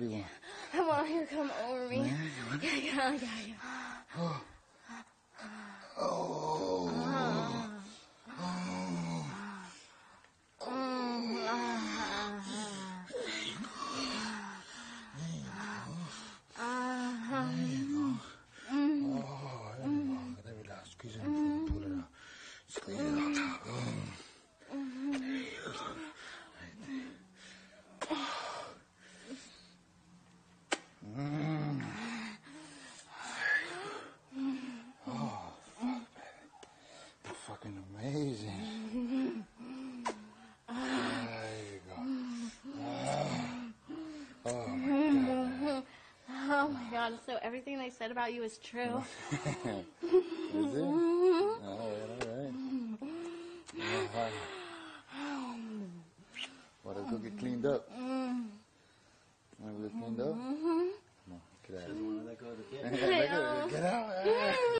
do you want? I want you to come over me. Yeah. Oh. There we go. Squeeze it and pull it out. Squeeze it out. Fucking amazing. There you go. Oh my god. Oh my god, so everything they said about you is true. Is it? Alright. Well, let's go get cleaned up. Wanna get cleaned up? Come on, get out. Doesn't want to let go of the kid. Get out.